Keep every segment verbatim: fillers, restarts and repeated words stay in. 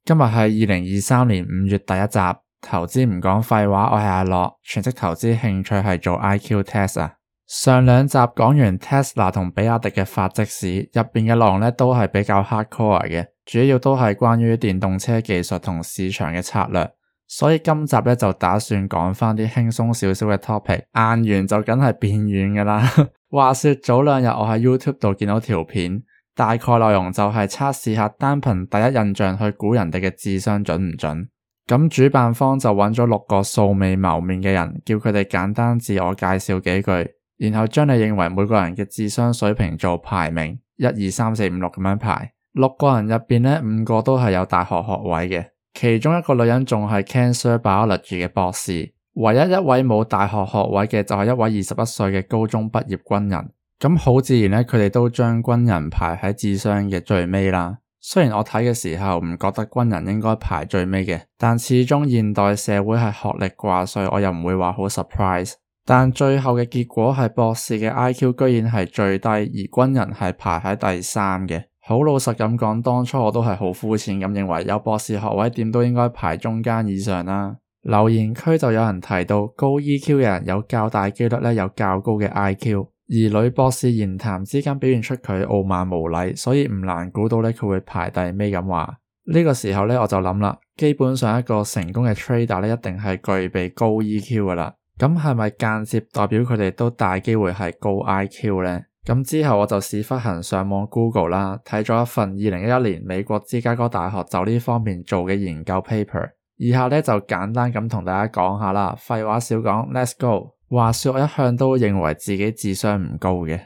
今日係二零二三年五月第一集，投資唔講廢話，我係阿樂，全職投資興趣係做 I Q test 啊。上兩集講完 Tesla 同比亞迪嘅發跡史，入邊嘅內容咧都係比較 hardcore 嘅，主要都係關於電動車技術同市場嘅策略。所以今集咧就打算講翻啲輕鬆少少嘅 topic， 硬完就梗係變軟噶啦。話說早兩日我喺 YouTube 度見到條片，大概內容就係測試下單憑第一印象去估人哋嘅智商準唔準。咁主辦方就揾咗六個素未謀面嘅人，叫佢哋簡單自我介紹幾句，然後將你認為每個人嘅智商水平做排名，一二三四五六咁樣排。六個人入邊呢，五個都係有大學學位嘅，其中一個女人仲係 Cancer Biology 嘅博士，唯一一位冇大學學位嘅就係一位二十一歲嘅高中畢業軍人。咁好自然呢，佢哋都將軍人排喺智商嘅最尾啦。雖然我睇嘅時候唔覺得軍人應該排最尾嘅，但始終現代社會係學歷掛帥，我又唔會話好 surprise。但最後嘅結果係博士嘅 I Q 居然係最低，而軍人係排喺第三嘅。好老實咁講，當初我都係好膚淺咁認為有博士學位點都應該排中間以上啦。留言區就有人提到高 E Q 嘅人有較大機率咧有較高嘅 I Q， 而女博士言談之間表現出佢傲慢無禮，所以唔難估到咧佢會排第尾咁話。呢個時候咧我就諗啦，基本上一個成功嘅 trader 咧一定係具備高 E Q 噶啦，咁係咪間接代表佢哋都大機會係高 I Q 呢？咁之後我就屎忽痕上網 Google 啦，睇咗一份二零一一年美國芝加哥大學就呢方面做嘅研究 paper， 以下呢就簡單咁同大家講下啦，廢話少講 ，Let's go。話說我一向都認為自己智商唔高嘅。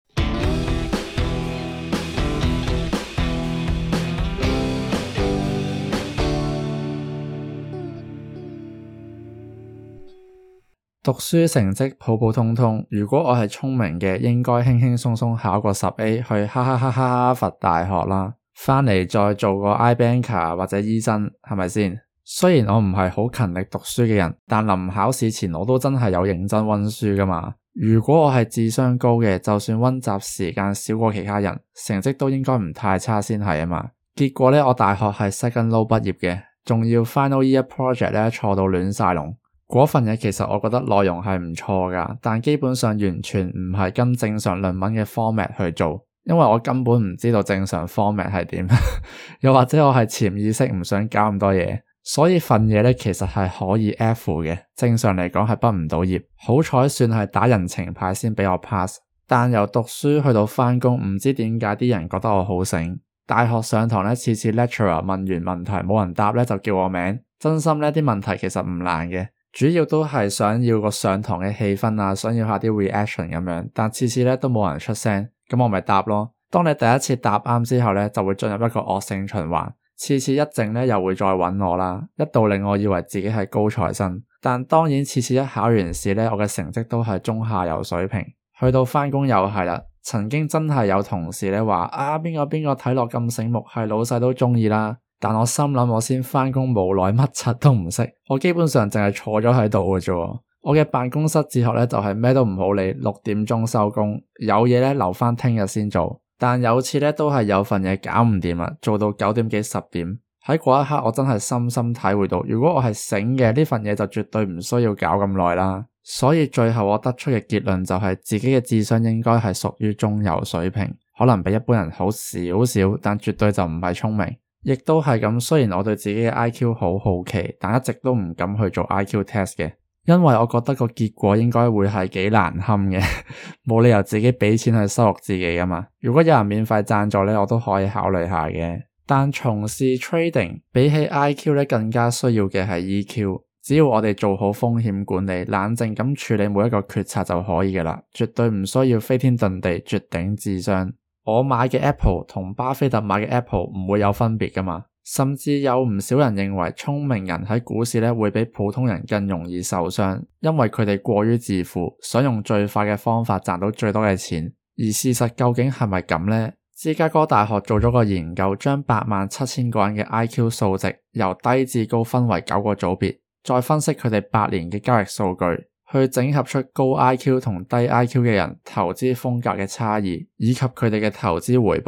讀書成績普普通通，如果我係聰明嘅，應該輕輕鬆鬆考個十 A 去哈哈哈哈佛大學啦，返嚟再做個 iBanker 或者醫生，係咪先？雖然我唔係好勤力讀書嘅人，但臨考試前我都真係有認真溫書噶嘛。如果我係智商高嘅，就算溫習時間少過其他人，成績都應該唔太差先係啊嘛。結果呢，我大學係 second low 畢業嘅，仲要 final year project 呢錯到亂晒龍。嗰份嘢其實我覺得內容係唔錯噶，但基本上完全唔係跟正常論文嘅 format 去做，因為我根本唔知道正常 format 係點，又或者我係潛意識唔想搞咁多嘢，所以份嘢咧其實係可以 F 嘅，正常嚟講係畢唔到業，好彩算係打人情牌先俾我 pass。但由讀書去到返工，唔知點解啲人覺得我好醒，大學上堂咧次次 lecturer 問完問題冇人答咧就叫我名，真心呢啲問題其實唔難嘅。主要都係想要個上堂嘅氣氛啊，想要下啲 reaction 咁樣，但次次咧都冇人出聲，咁我咪答咯。當你第一次答啱之後咧，就會進入一個惡性循環，次次一靜咧又會再揾我啦，一度令我以為自己係高材生。但當然次次一考完試咧，我嘅成績都係中下游水平。去到返工又係啦，曾經真係有同事咧話啊邊個邊個睇落咁醒目，係老細都中意啦。但我心諗我先返工無耐，乜柒都唔識，我基本上淨係坐咗喺度嘅啫。我嘅辦公室哲學咧就係咩都唔好理，六點鐘收工，有嘢咧留返聽日先做。但有次咧都係有份嘢搞唔掂啦，做到九點幾十點。喺嗰一刻我真係深深體會到，如果我係醒嘅，呢份嘢就絕對唔需要搞咁耐啦。所以最後我得出嘅結論就係自己嘅智商應該係屬於中游水平，可能比一般人好少少，但絕對就唔係聰明。亦都係咁，雖然我對自己嘅 I Q 好好奇，但一直都唔敢去做 I Q test 嘅，因為我覺得個結果應該會係幾難堪嘅，冇理由自己俾錢去收錄自己㗎嘛。如果有人免費贊助呢，我都可以考慮下嘅。但從事 trading 比起 I Q 呢，更加需要嘅係 E Q。只要我哋做好風險管理，冷靜咁處理每一個決策就可以㗎啦，絕對唔需要飛天遁地絕頂智商。我買嘅 Apple 同巴菲特買嘅 Apple 唔會有分別噶嘛，甚至有唔少人認為聰明人喺股市咧會比普通人更容易受傷，因為佢哋過於自負，想用最快嘅方法賺到最多嘅錢。而事實究竟係咪咁呢？芝加哥大學做咗個研究，將八萬七千個人嘅 I Q 數值由低至高分為九個組別，再分析佢哋八年嘅交易數據，去整合出高 I Q 同低 I Q 嘅人投資風格嘅差異，以及佢哋嘅投資回報。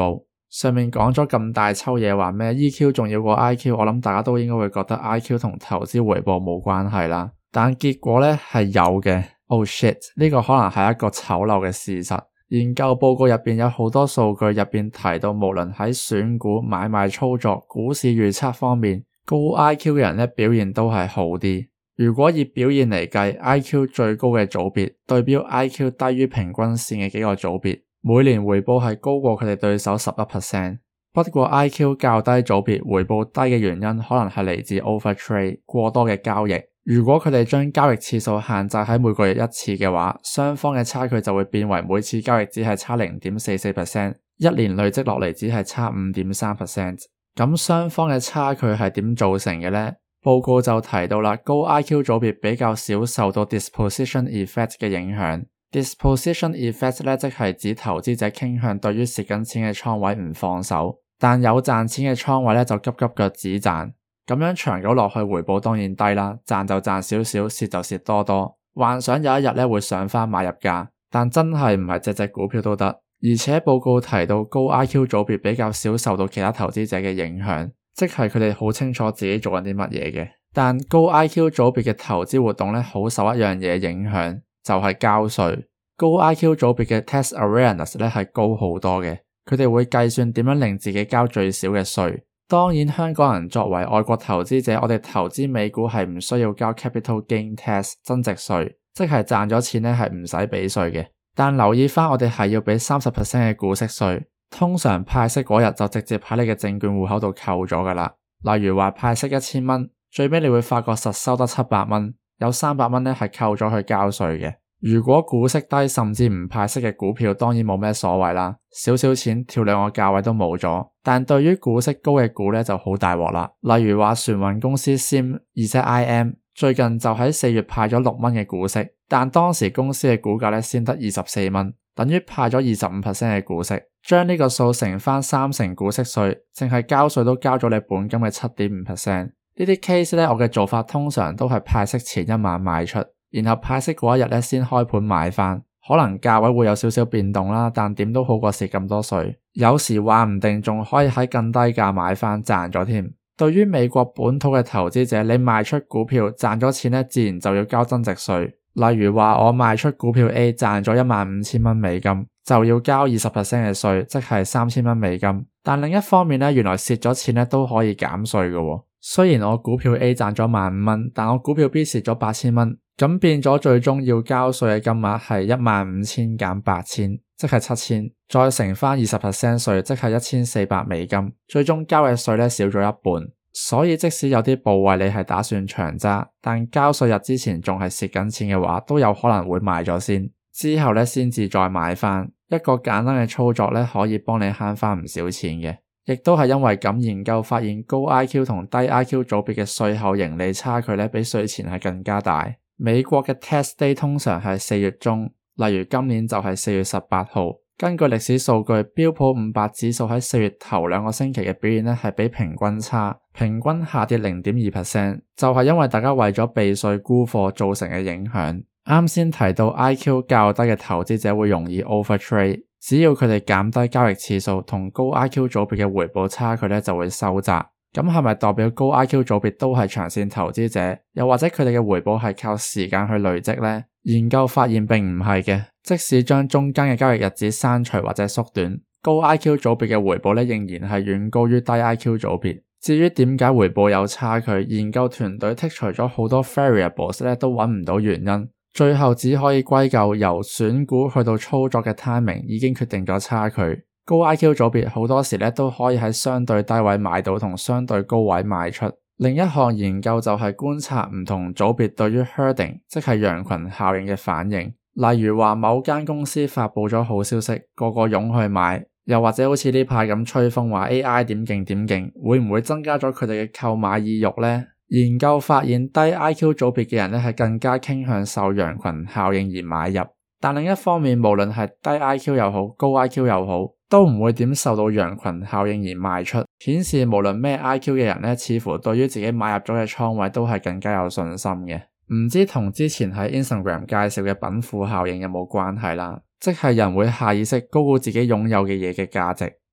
上面講咗咁大抽嘢話咩 E Q 重要過 I Q， 我諗大家都應該會覺得 I Q 同投資回報冇關係啦，但結果呢係有嘅。Oh shit， 呢個可能係一個醜陋嘅事實。研究報告入邊有好多數據入邊提到，無論喺選股、買賣操作、股市預測方面，高 I Q 嘅人呢表現都係好啲。如果以表現嚟計 ，I Q 最高嘅組別對標 I Q 低於平均線嘅幾個組別，每年回報係高過佢哋對手 百分之十一。不過 I Q 較低組別回報低嘅原因可能係嚟自 overtrade 過多嘅交易。如果佢哋將交易次數限制喺每個月一次嘅話，雙方嘅差距就會變為每次交易只係差 零點四四 percent， 一年累積落嚟只係差 五點三 percent。咁雙方嘅差距係點造成嘅呢？報告就提到啦，高 I Q 組別比較少受到 disposition effect 嘅影響。disposition effect 咧，即係指投資者傾向對於蝕緊錢嘅倉位唔放手，但有賺錢嘅倉位咧就急急腳止賺。咁樣長久落去回報當然低啦，賺就賺少少，蝕就蝕多多。幻想有一日咧會上返買入價，但真係唔係隻隻股票都得。而且報告提到高 I Q 組別比較少受到其他投資者嘅影響，即係佢哋好清楚自己做緊啲乜嘢嘅。但高 I Q 組別嘅投資活動咧好受一樣嘢影響，就係交稅。高 I Q 組別嘅 tax awareness 咧係高好多嘅，佢哋會計算點樣令自己交最少嘅稅。當然香港人作為外國投資者，我哋投資美股係唔需要交 capital gain tax 增值稅，即係賺咗錢咧係唔使俾稅嘅。但留意返我哋係要俾 百分之三十 嘅股息稅，通常派息嗰日就直接喺你嘅證券戶口度扣咗㗎啦。例如話派息一千蚊，最尾你會發覺實收得七百蚊，有三百蚊咧係扣咗去交稅嘅。如果股息低甚至唔派息嘅股票，當然冇咩所謂啦，少少錢跳兩個價位都冇咗。但對於股息高嘅股咧就好大鑊啦。例如話船運公司 Sim 而且 I M 最近就喺四月派咗六蚊嘅股息，但當時公司嘅股價咧先得二十四蚊，等於派咗二十五 percent 嘅股息。將呢個數乘翻三成股息稅，淨係交稅都交咗你本金嘅 七點五 percent。呢啲 case 咧，我嘅做法通常都係派息前一晚賣出，然後派息嗰一日咧先開盤買翻，可能價位會有少少變動啦，但點都好過蝕咁多稅。有時話唔定仲可以喺更低價買翻賺咗添。對於美國本土嘅投資者，你賣出股票賺咗錢咧，自然就要交增值稅。例如話我賣出股票 A 賺咗一萬五千蚊美金，就要交二十 percent 嘅稅，即係三千蚊美金。但另一方面咧，原來蝕咗錢咧都可以減稅嘅。雖然我股票 A 賺咗萬五蚊，但我股票 B 蝕咗八千蚊，咁變咗最終要交稅嘅金額係一萬五千減八千，即係七千，再乘翻二十 percent 稅，即係一千四百美金，最終交嘅稅咧少咗一半。所以即使有啲部位你係打算長揸，但交稅日之前仲係蝕緊錢嘅話，都有可能會賣咗先，之後咧先至再買翻。一個簡單嘅操作咧，可以幫你慳翻唔少錢嘅。亦都係因為咁，研究發現高 I Q 同低 I Q 組別嘅稅後盈利差距咧，比稅前係更加大。美國嘅 tax day 通常係四月中，例如今年就係四月十八號。根據歷史數據，標普五百指數喺四月頭兩個星期嘅表現咧係比平均差，平均下跌 零點二 percent， 就係因為大家為咗避稅沽貨造成嘅影響。啱先提到 I Q 較低嘅投資者會容易 overtrade。只要佢哋減低交易次數，同高 I Q 組別嘅回報差距咧就會收窄。咁係咪代表高 I Q 組別都係長線投資者？又或者佢哋嘅回報係靠時間去累積呢？研究發現並唔係嘅，即使將中間嘅交易日子刪除或者縮短，高 I Q 組別嘅回報咧仍然係遠高於低 I Q 組別。至於點解回報有差距，研究團隊剔除咗好多 variables 咧都揾唔到原因。最後只可以歸咎由選股去到操作嘅 timing 已經決定咗差距。高 I Q 組別好多時咧都可以喺相對低位買到同相對高位賣出。另一項研究就係觀察唔同組別對於 herding 即係羊群效應嘅反應。例如話某間公司發佈咗好消息，個個湧去買，又或者好似呢排咁吹風話 A I 點勁點勁，會唔會增加咗佢哋嘅購買意欲呢？研究發現低 I Q 組別嘅人咧係更加傾向受羊群效應而買入，但另一方面無論係低 I Q 又好高 I Q 又好，都唔會點受到羊群效應而賣出，顯示無論咩 I Q 嘅人咧，似乎對於自己買入咗嘅倉位都係更加有信心嘅。唔知同之前喺 Instagram 介紹嘅稟賦效應有冇關係啦？即係人會下意識高估自己擁有嘅嘢嘅價值，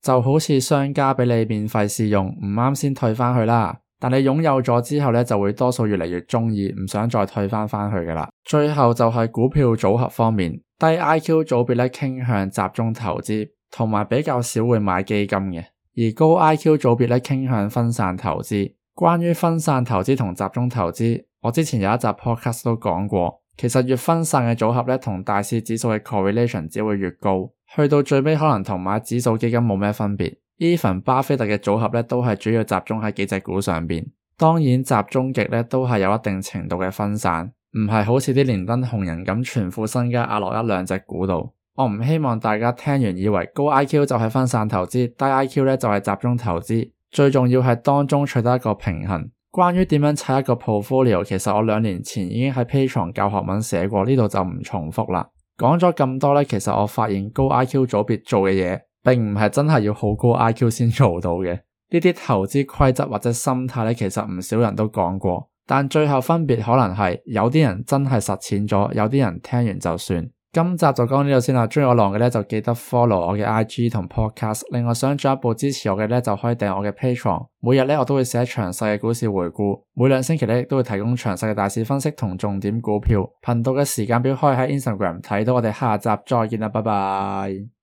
就好似商家俾你免費試用，唔啱先退返去啦。但你擁有咗之後咧，就會多數越嚟越鍾意，唔想再退返返去㗎啦。最後就係股票組合方面，低 I Q 組別咧傾向集中投資，同埋比較少會買基金嘅；而高 I Q 組別咧傾向分散投資。關於分散投資同集中投資，我之前有一集 podcast 都講過，其實越分散嘅組合咧，同大市指數嘅 correlation 只會越高，去到最尾可能同買指數基金冇咩分別。Even 巴菲特嘅組合咧都係主要集中喺幾隻股上邊，當然集中極咧都係有一定程度嘅分散，唔係好似啲連登紅人咁全副身家壓落一兩隻股度。我唔希望大家聽完以為高 I Q 就係分散投資，低 I Q 咧就係集中投資，最重要係當中取得一個平衡。關於點樣砌一個 portfolio， 其實我兩年前已經喺 Patreon 教學文寫過，呢度就唔重複啦。講咗咁多咧，其實我發現高 I Q 組別做嘅嘢並唔係真係要好高 I Q 先做到嘅，呢啲投資規則或者心態咧，其實唔少人都講過，但最後分別可能係有啲人真係實踐咗，有啲人聽完就算。今集就講到呢度先啦，鍾意我浪嘅咧就記得 follow 我嘅 I G 同 podcast， 另外想進一步支持我嘅咧就可以訂我嘅 Patreon， 每日咧我都會寫詳細嘅股市回顧，每兩星期咧都會提供詳細嘅大市分析同重點股票。頻道嘅時間表可以喺 Instagram 睇到，我哋下集再見啦，拜拜。